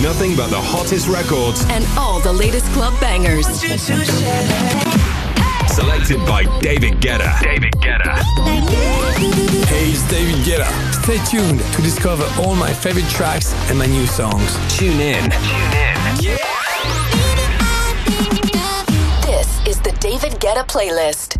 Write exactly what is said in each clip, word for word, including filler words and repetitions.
nothing but the hottest records and all the latest club bangers. Selected by David Guetta. David Guetta. Hey, it's David Guetta. Stay tuned to discover all my favorite tracks and my new songs. Tune in. Tune in. Yeah. This is the David Guetta playlist.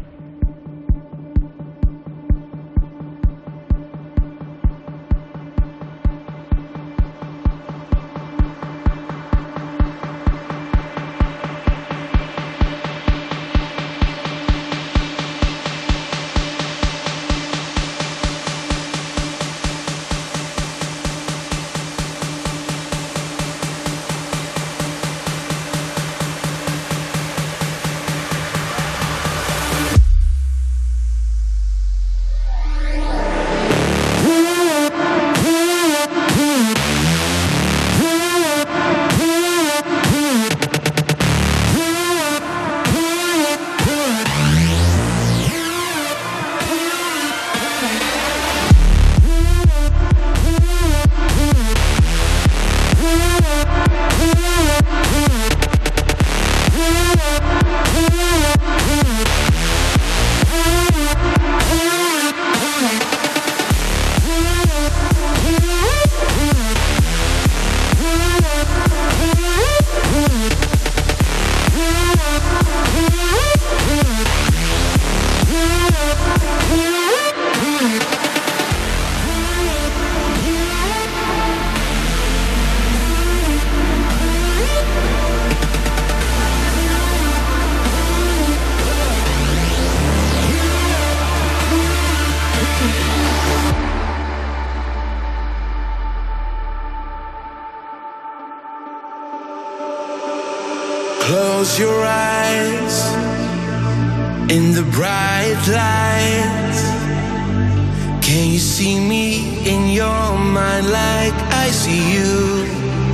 Close your eyes in the bright lights. Can you see me in your mind like I see you?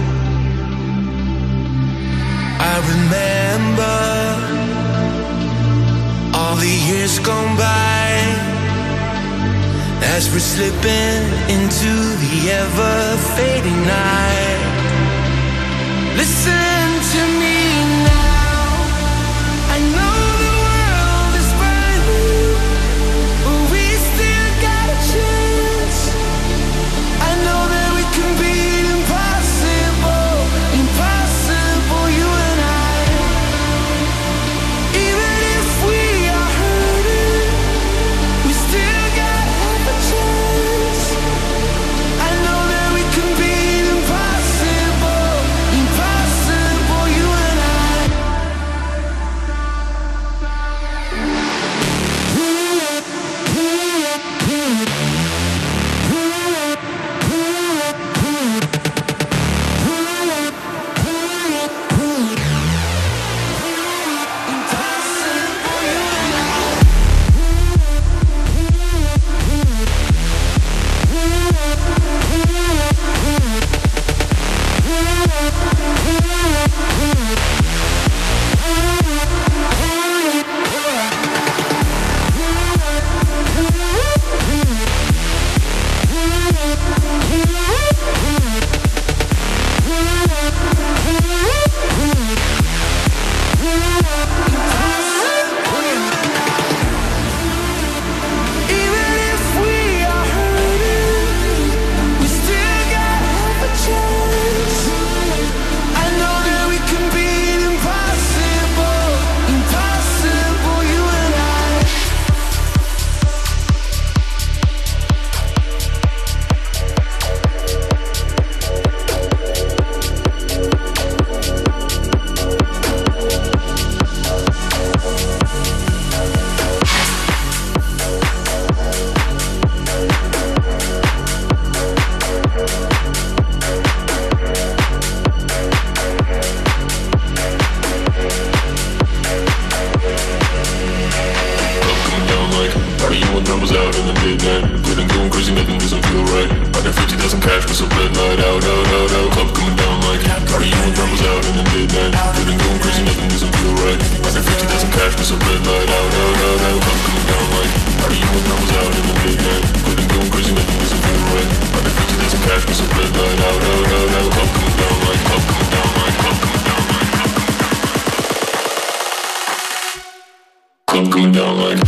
I remember all the years gone by as we're slipping into the ever-fading night. Listen to me. Impossible, coming down like.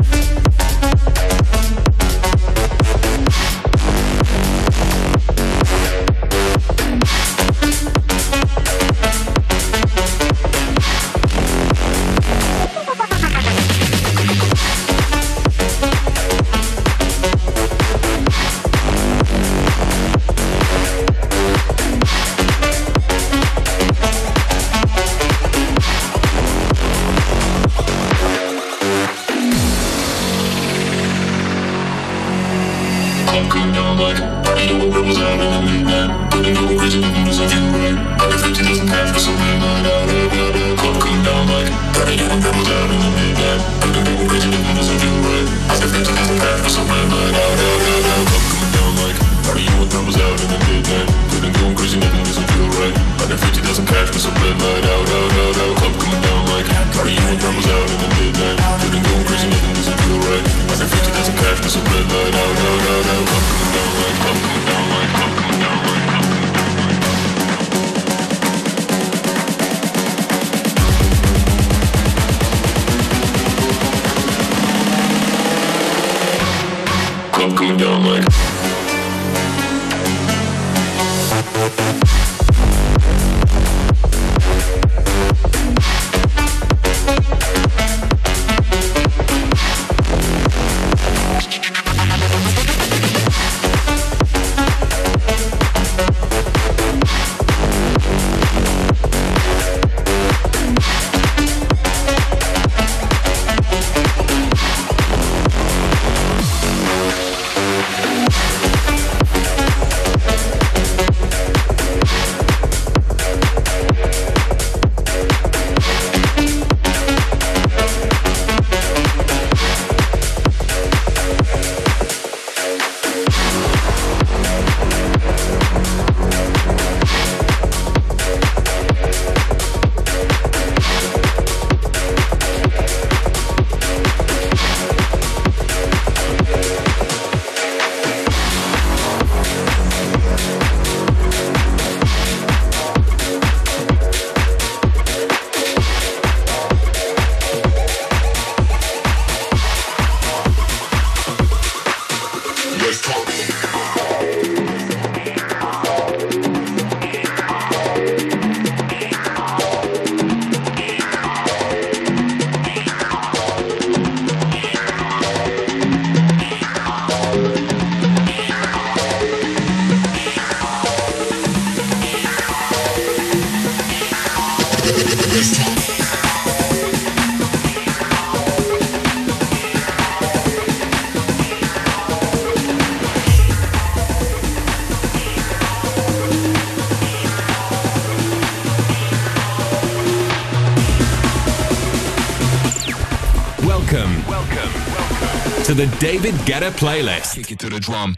Welcome, welcome, welcome to the David Guetta playlist. Kick it to the drum.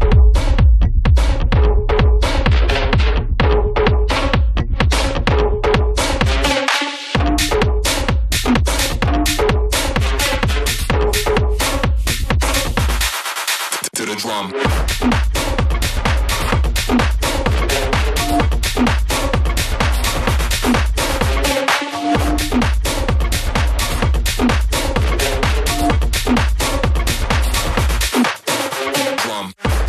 To the drum. Drum.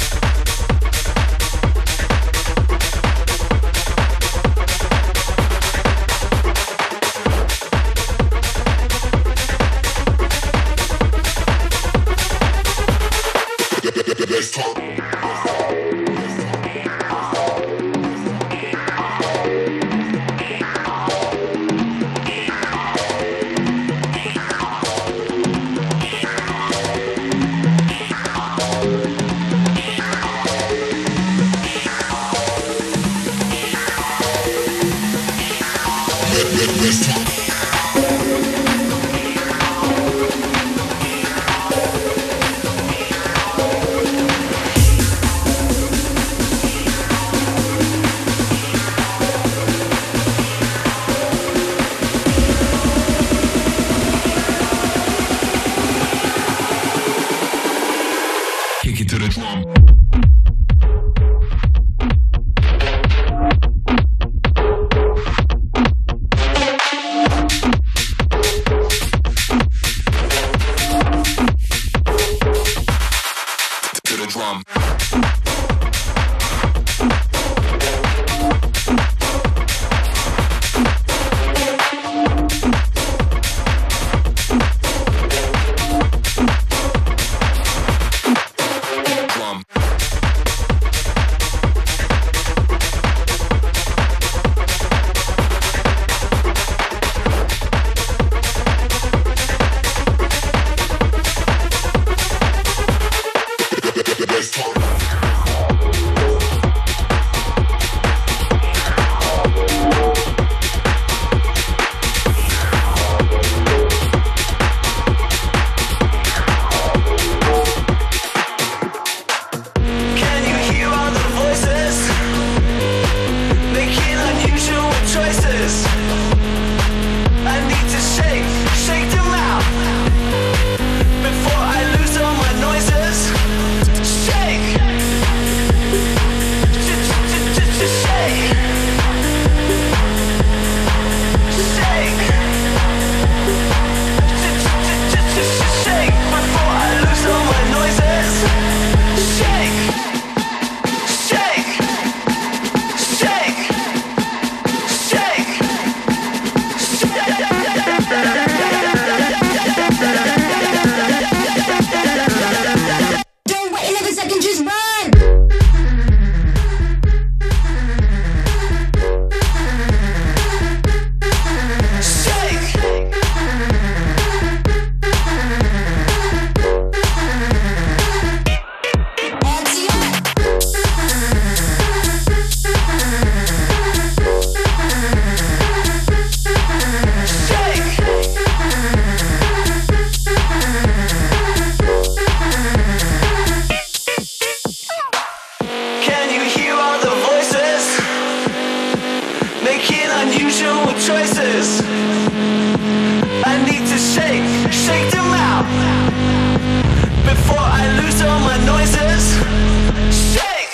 shake, shake them out before I lose all my noises. Shake,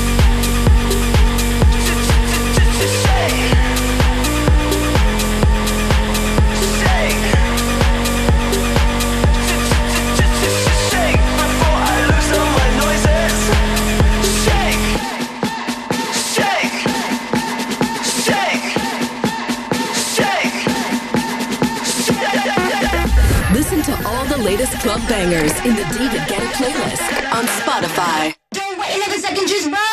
shake, shake, shake before I lose all my noises. Shake, shake, shake, shake, shake. Listen to all the latest club bangers in the David Guetta playlist on Spotify. Don't wait another second, just run!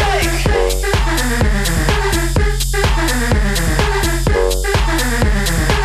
Shake,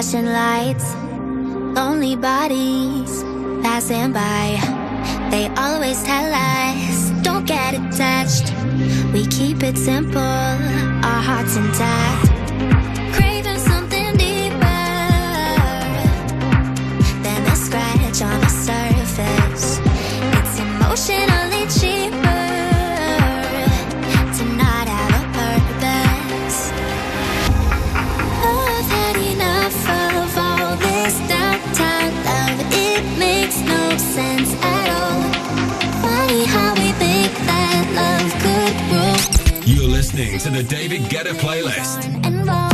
flashing lights, lonely bodies passing by. They always tell us, don't get attached. We keep it simple, our hearts intact. Craving something deeper than a scratch on the surface. It's emotionally cheaper to not have a purpose. Oh, I've had enough of all this downtown love. It makes no sense at all. Funny how we think that love could rule. You're listening to the David Guetta playlist. Involved.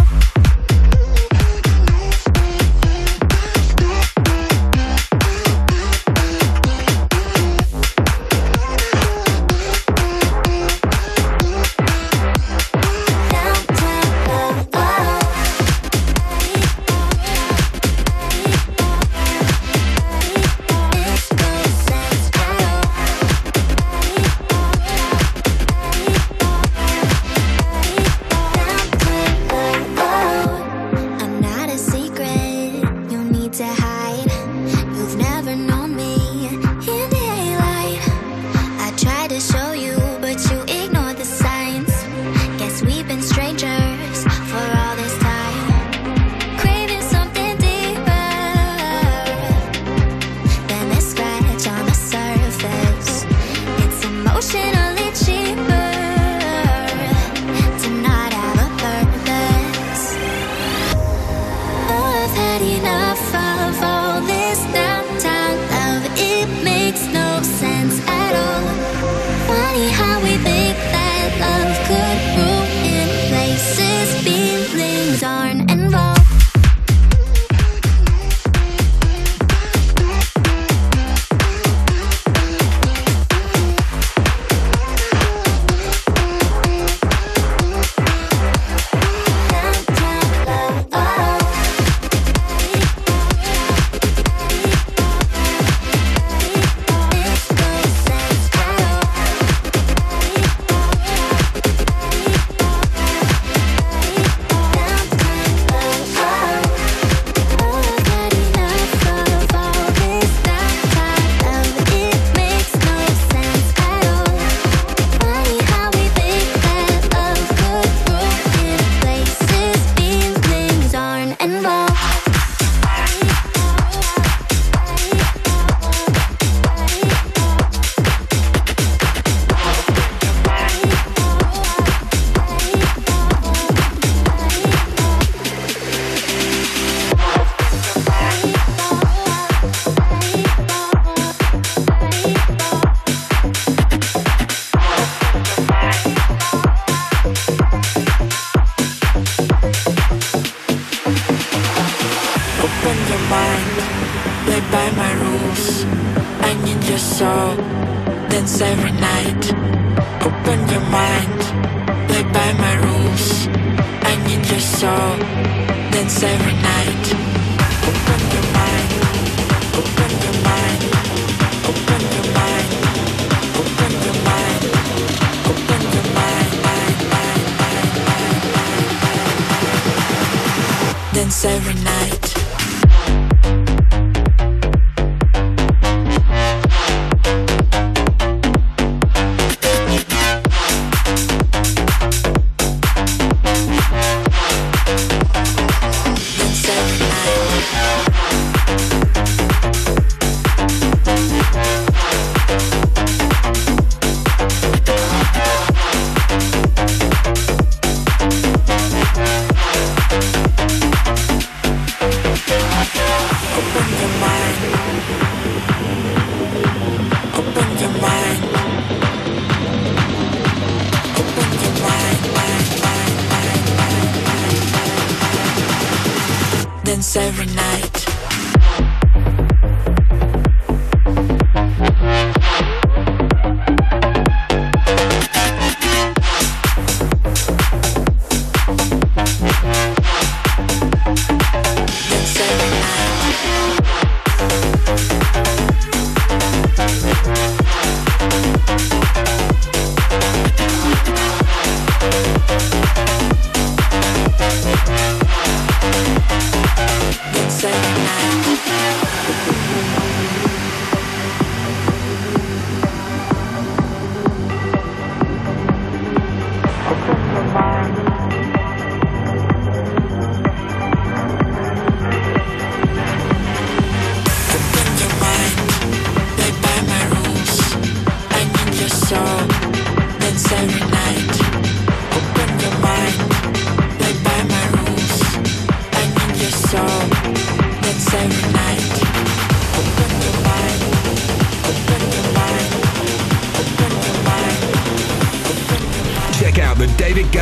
Every night.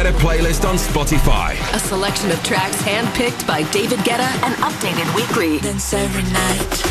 Guetta playlist on Spotify. A selection of tracks handpicked by David Guetta and updated weekly. Dance every night.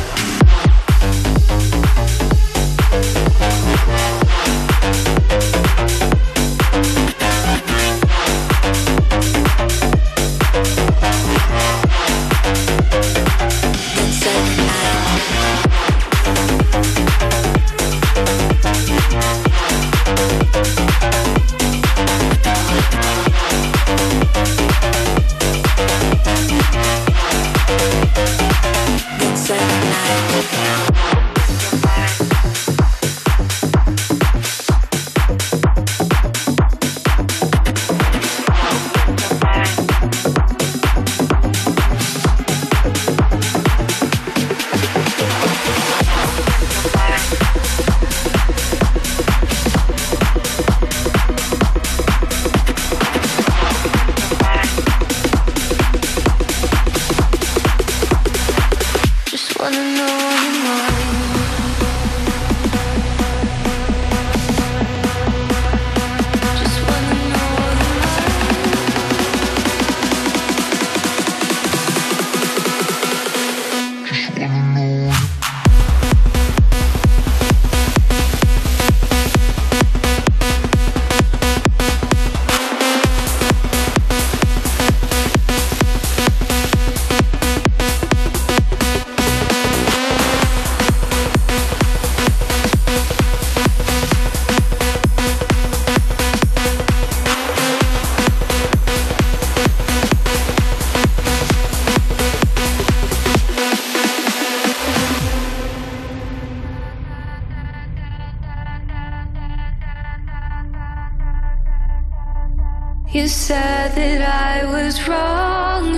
You said that I was wrong,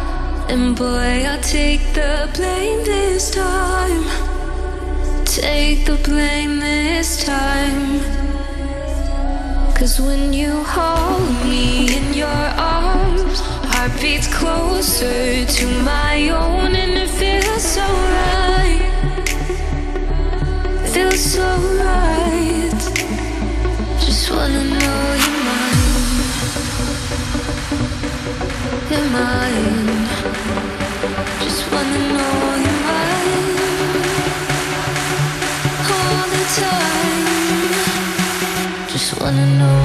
and boy, I'll take the blame this time. Take the blame this time. Cause when you hold me in your arms, heart beats closer to my own, and it feels so right. Feels so right. Just wanna know you're mine. You're mine. Just wanna know you're mine. All the time. Just wanna know.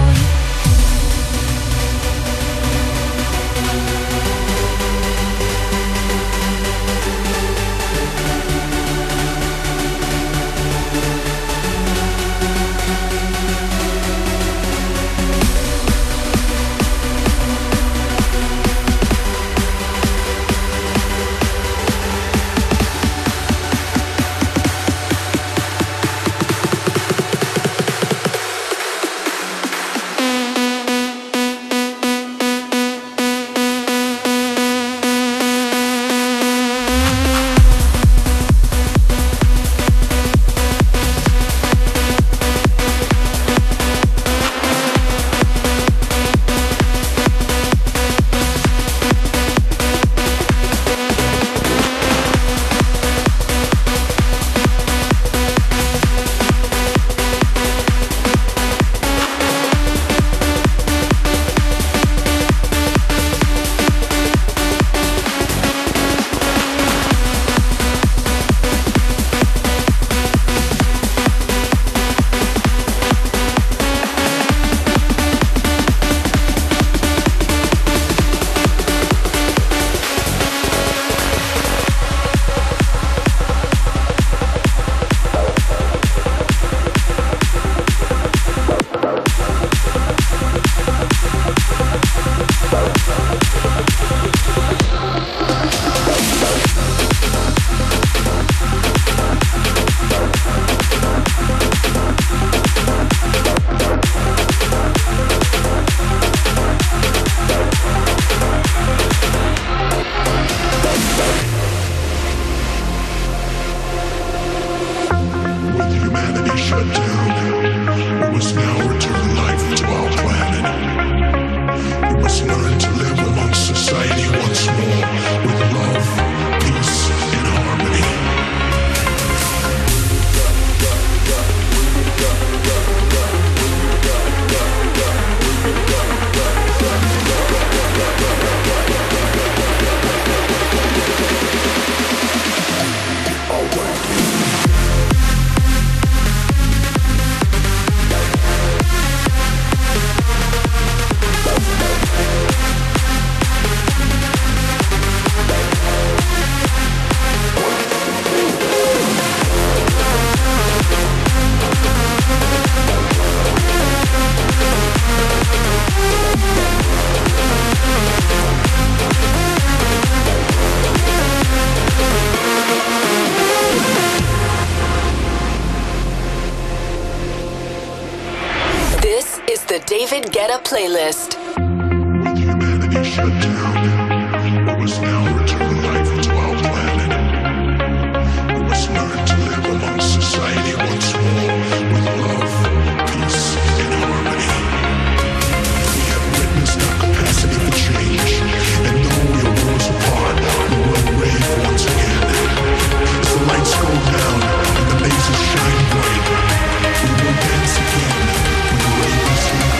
David Guetta playlist. With humanity shut down, we must now return life to our planet. We must learn to live amongst society once more with love, peace, and harmony. We have witnessed our capacity for change, and though we are worlds apart, we will rave once again. As the lights go down and the lasers shine bright, we will dance again when the rave is here.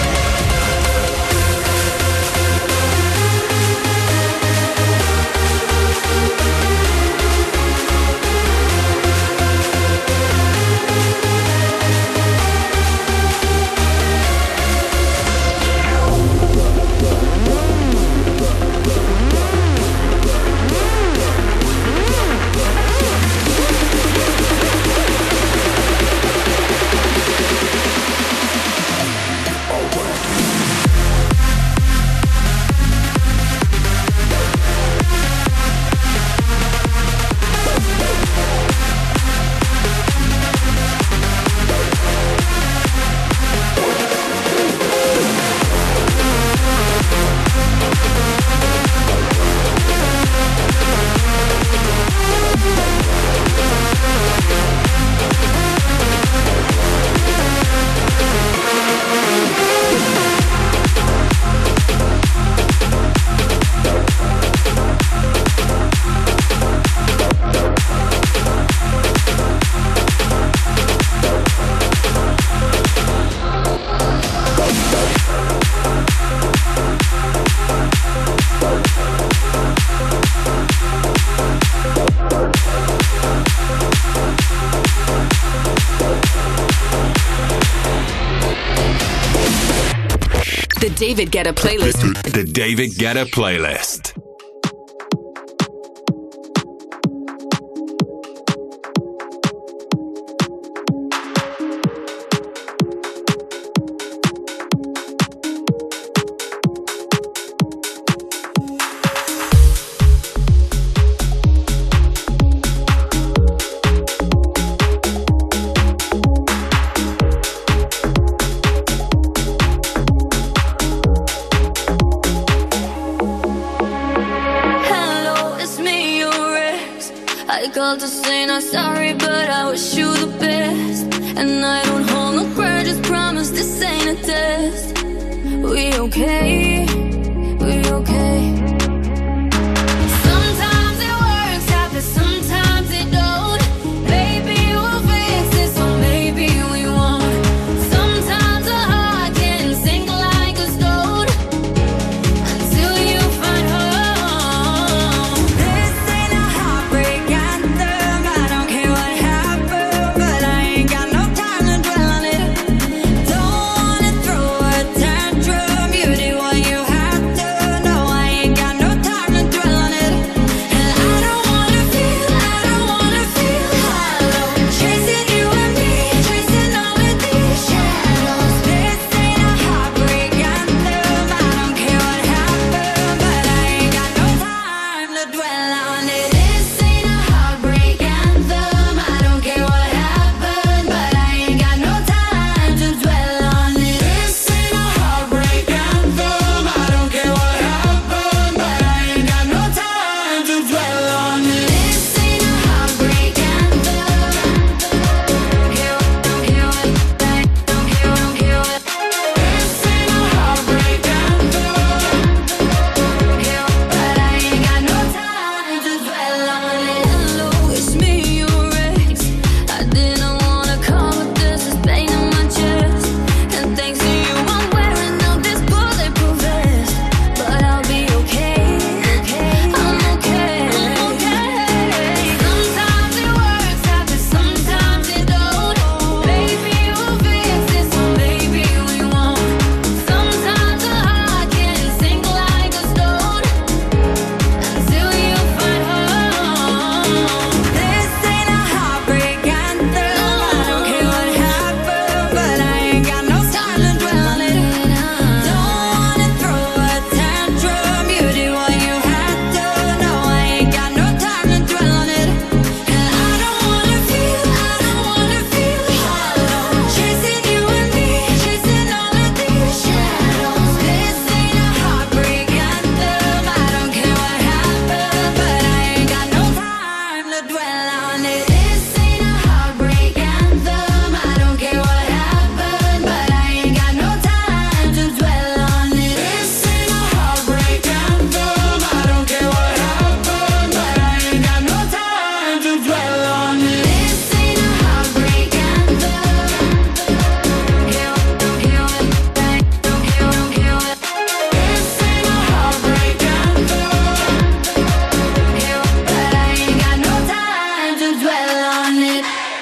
The David Guetta playlist. The David Guetta playlist. Called to say not sorry, but I wish you the best. And I don't hold no grudges, promise this ain't a test. We okay, we okay. Sometimes it works out, but sometimes it don't. Maybe we'll fix it, so maybe we won't. Sometimes a heart can sink like a stone until you find home. This ain't a heartbreak. Got dwell on it.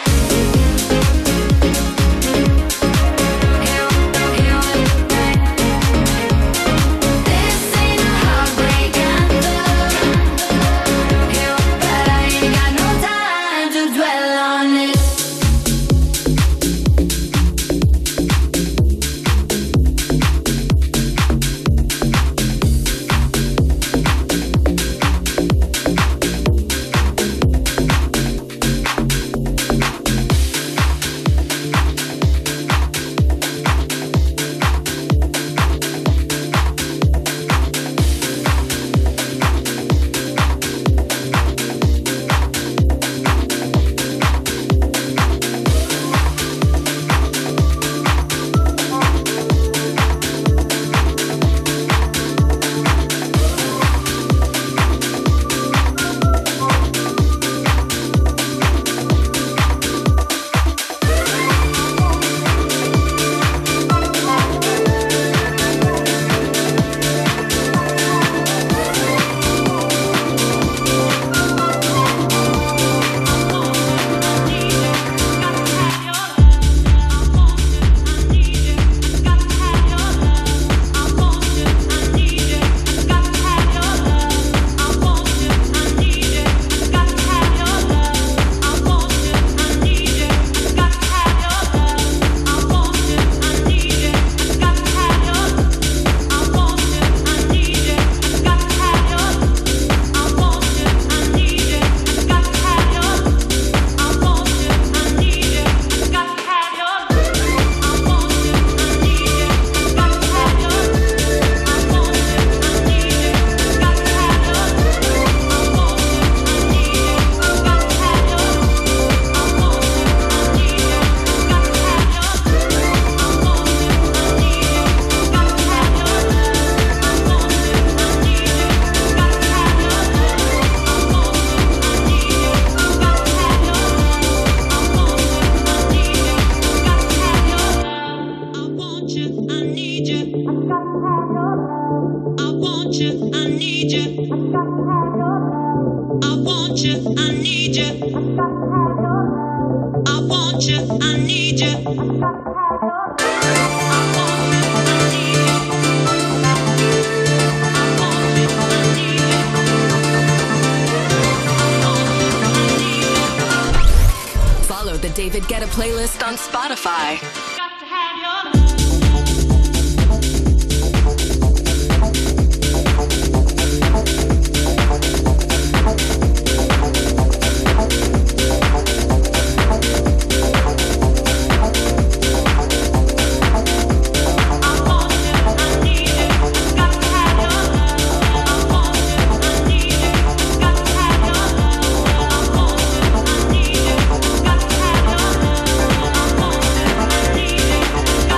Follow the David Guetta playlist on Spotify. I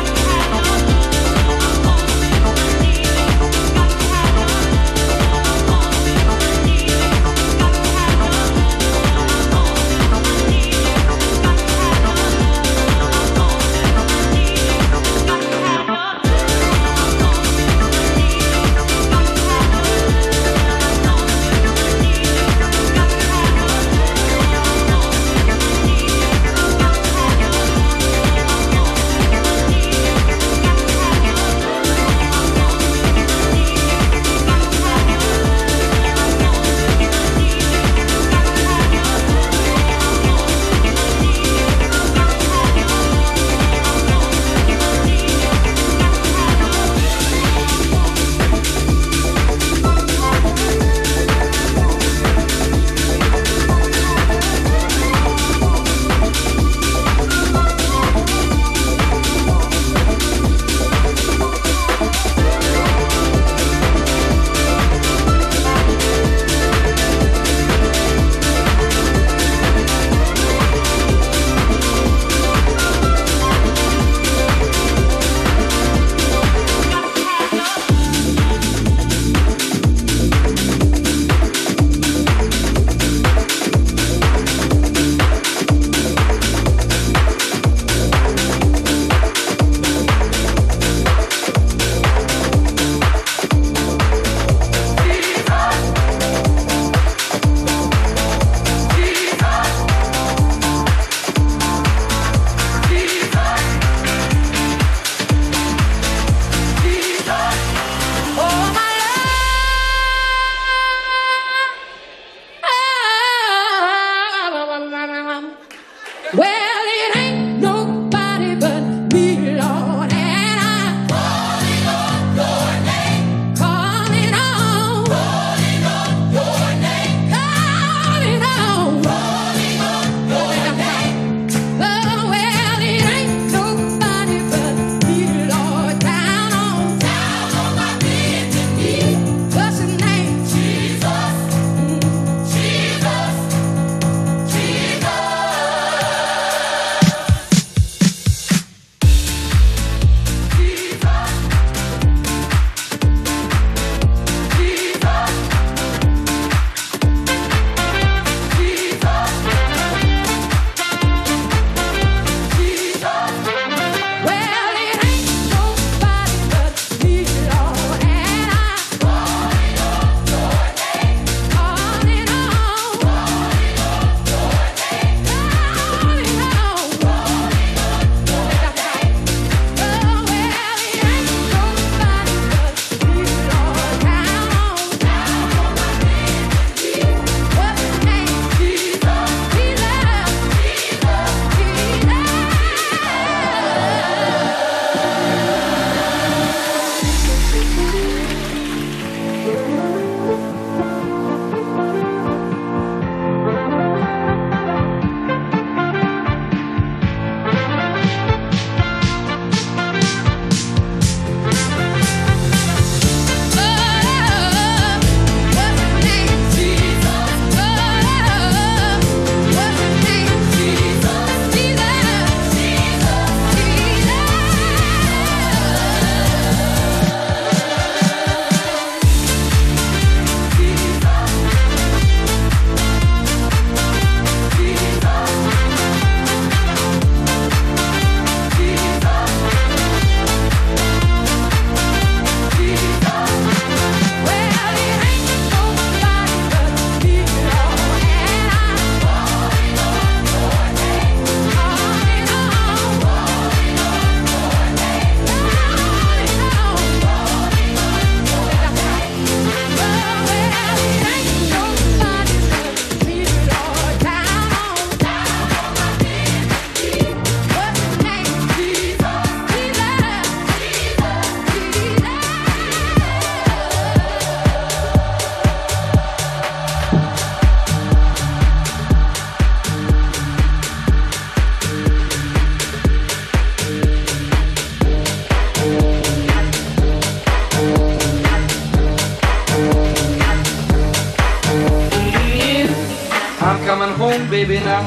home, baby, now.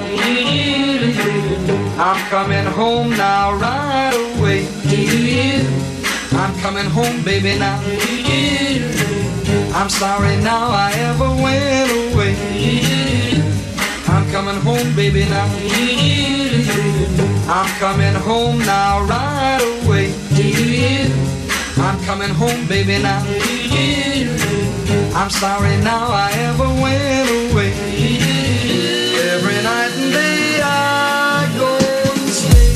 I'm coming home now, right away. I'm coming home, baby, now. I'm sorry now I ever went away. I'm coming home, baby, now. I'm coming home now, right away. I'm coming home, baby, now. I'm sorry now I ever went away. Every night and day I go and stay.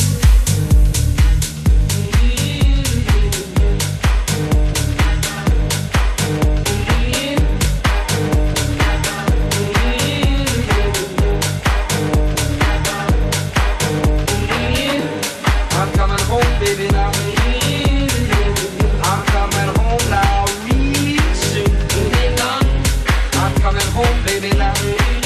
I'm coming home, baby, now. I'm coming home now, real soon. I'm coming home, baby, now.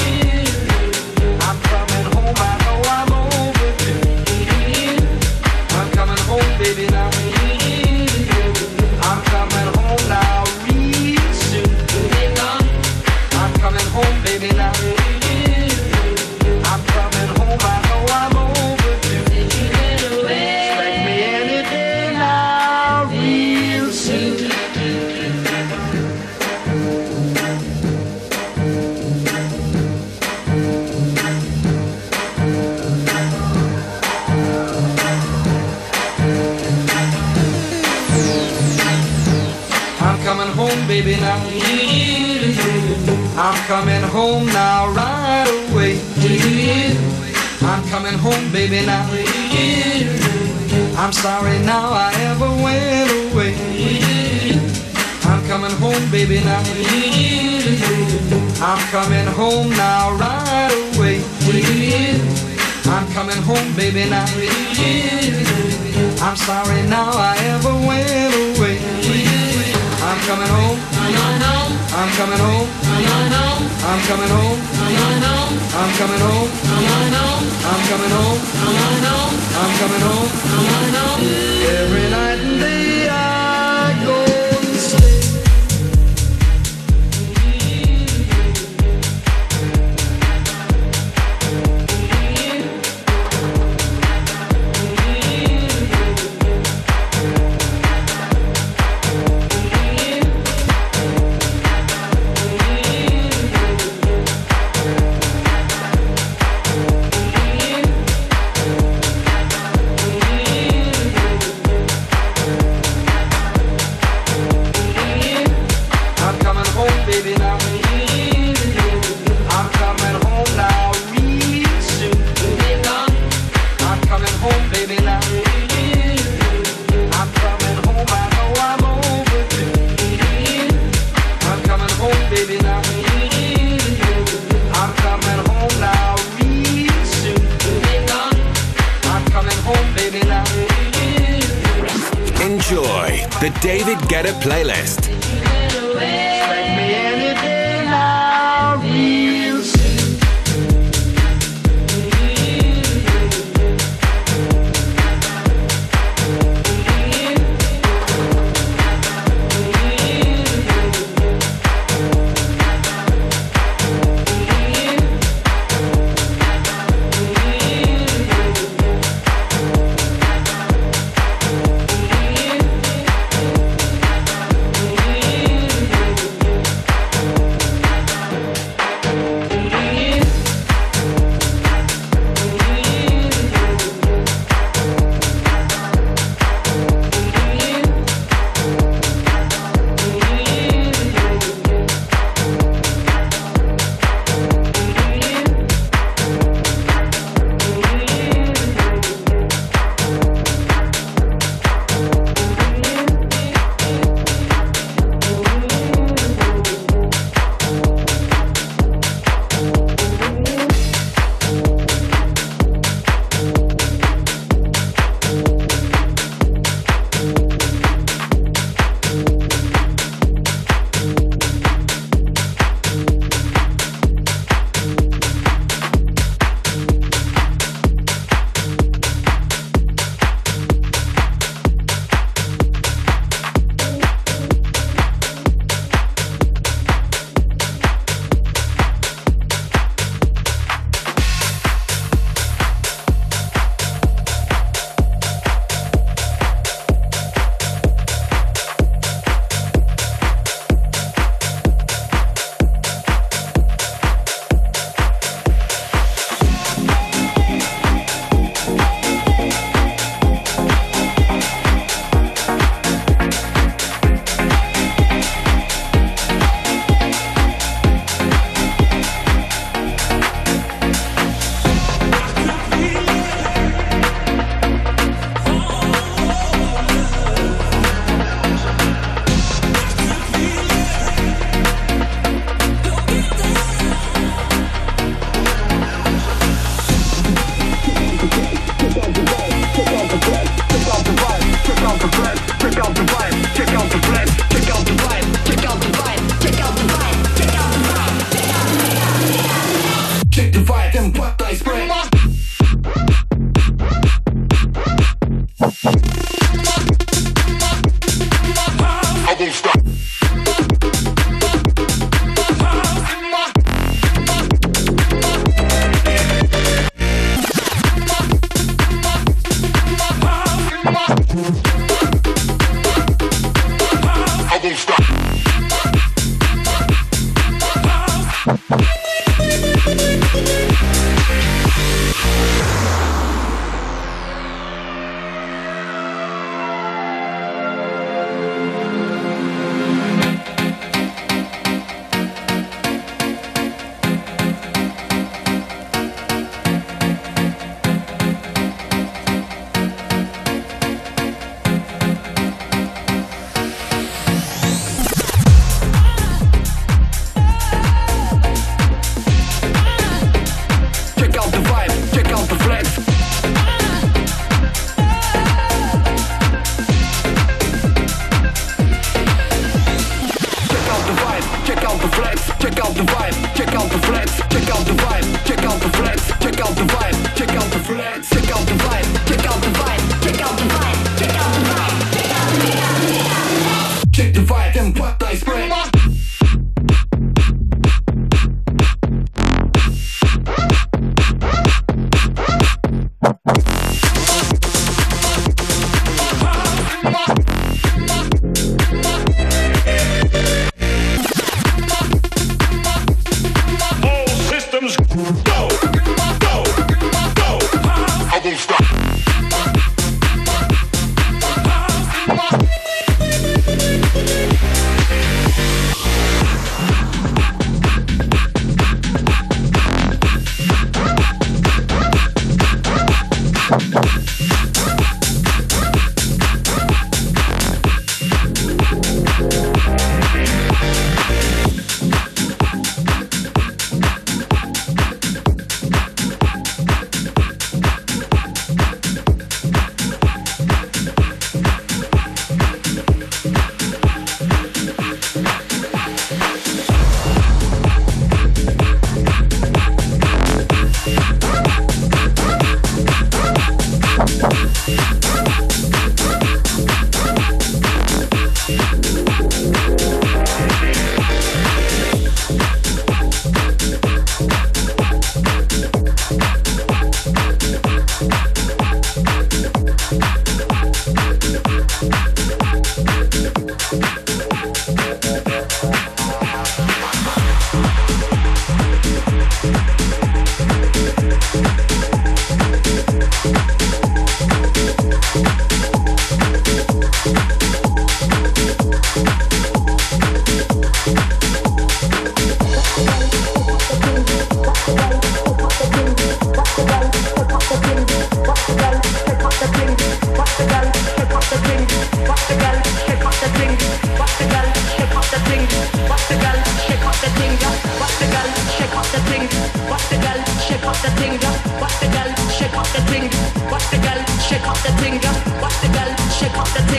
I'm coming home, I know I'm overdue. I'm coming home, baby, now. I'm coming home now, real soon. I'm coming home, baby, now. I'm coming home, I know I'm overdue. Expect me any day now, real soon. I'm coming home, baby, now. I'm coming home now, right away. I'm coming home, baby, now. I'm sorry now I ever went away. I'm coming home, baby, now. I'm coming home now, right away. I'm coming home, baby, now. I'm sorry now I ever went away. I'm coming home. I'm coming home. I'm coming home. I'm coming home. I'm coming home. I'm coming home. Every night and day I go and stay. I'm coming home, baby, now. I'm coming home now, real soon. I'm coming home, baby, now. I'm coming home, I know I'm overdue. I'm coming home, baby, now. I'm coming home now, real soon. I'm coming home, baby, now. Enjoy the David Guetta playlist. Expect me any day now, real soon.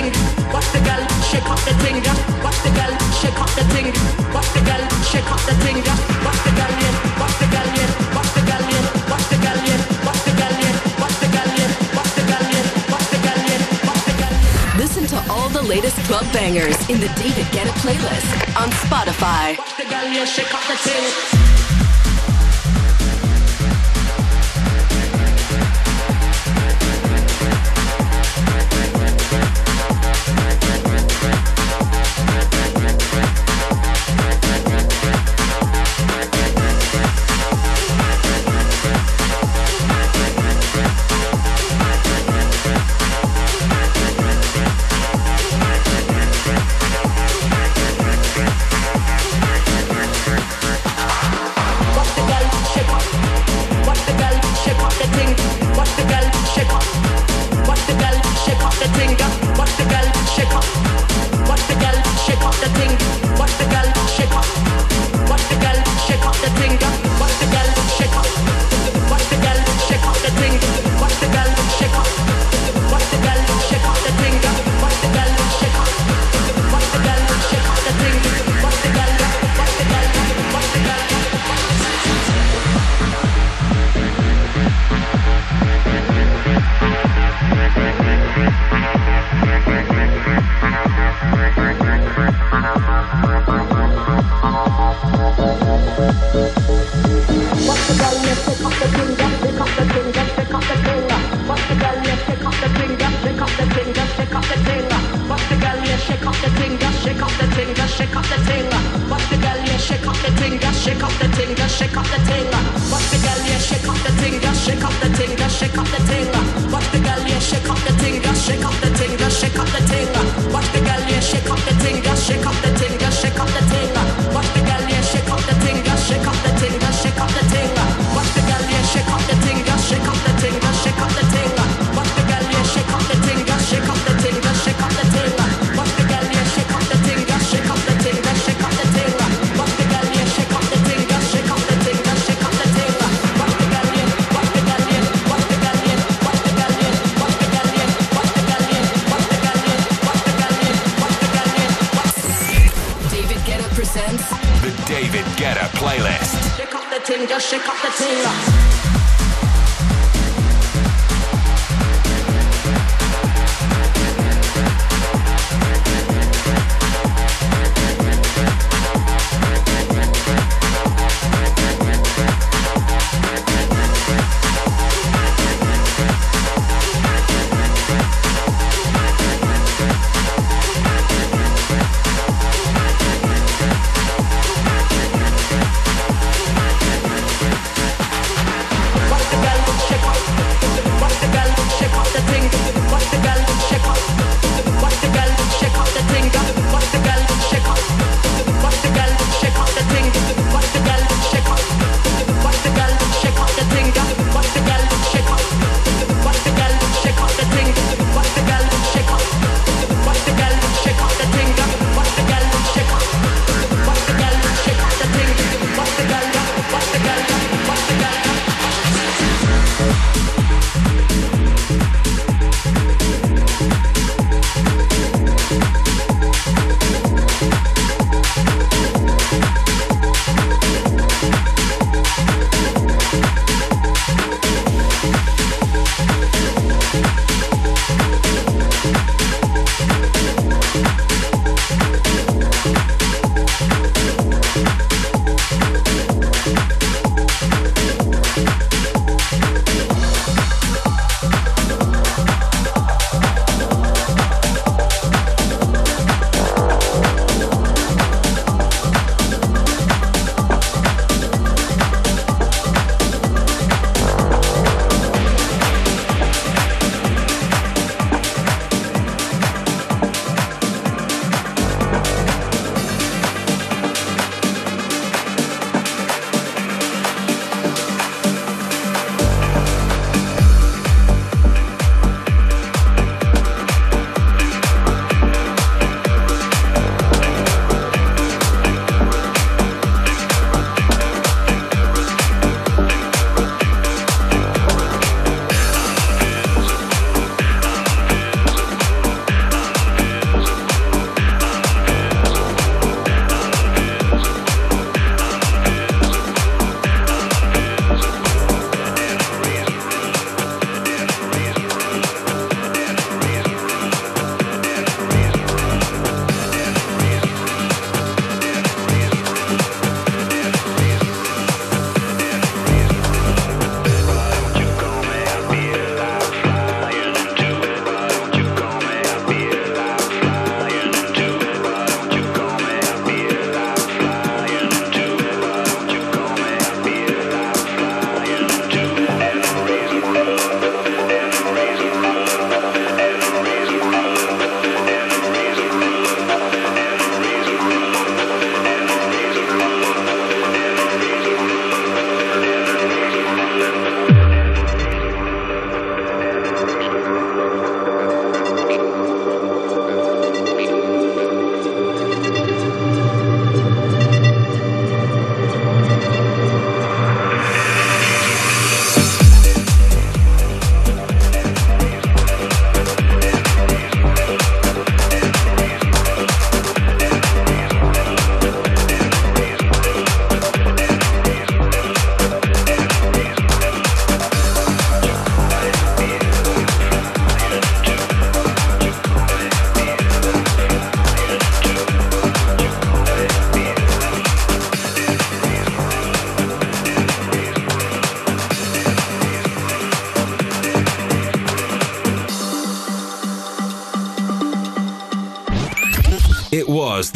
ting. Watch the gal shake up the ting. Watch the gal shake up the ting. Watch the gal shake up the ting. Watch the gal yeah. Watch the gal yeah. Watch the gal yeah. Watch the gal yeah. Watch the gal yeah. Watch the gal yeah. Watch the gal yeah. Watch the gal yeah. Watch the gal yeah. Listen to all the latest club bangers in the David Guetta playlist on Spotify. Watch the gal yeah. Shake up the ting.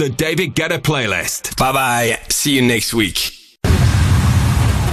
The David Guetta Playlist. Bye bye. See you next week.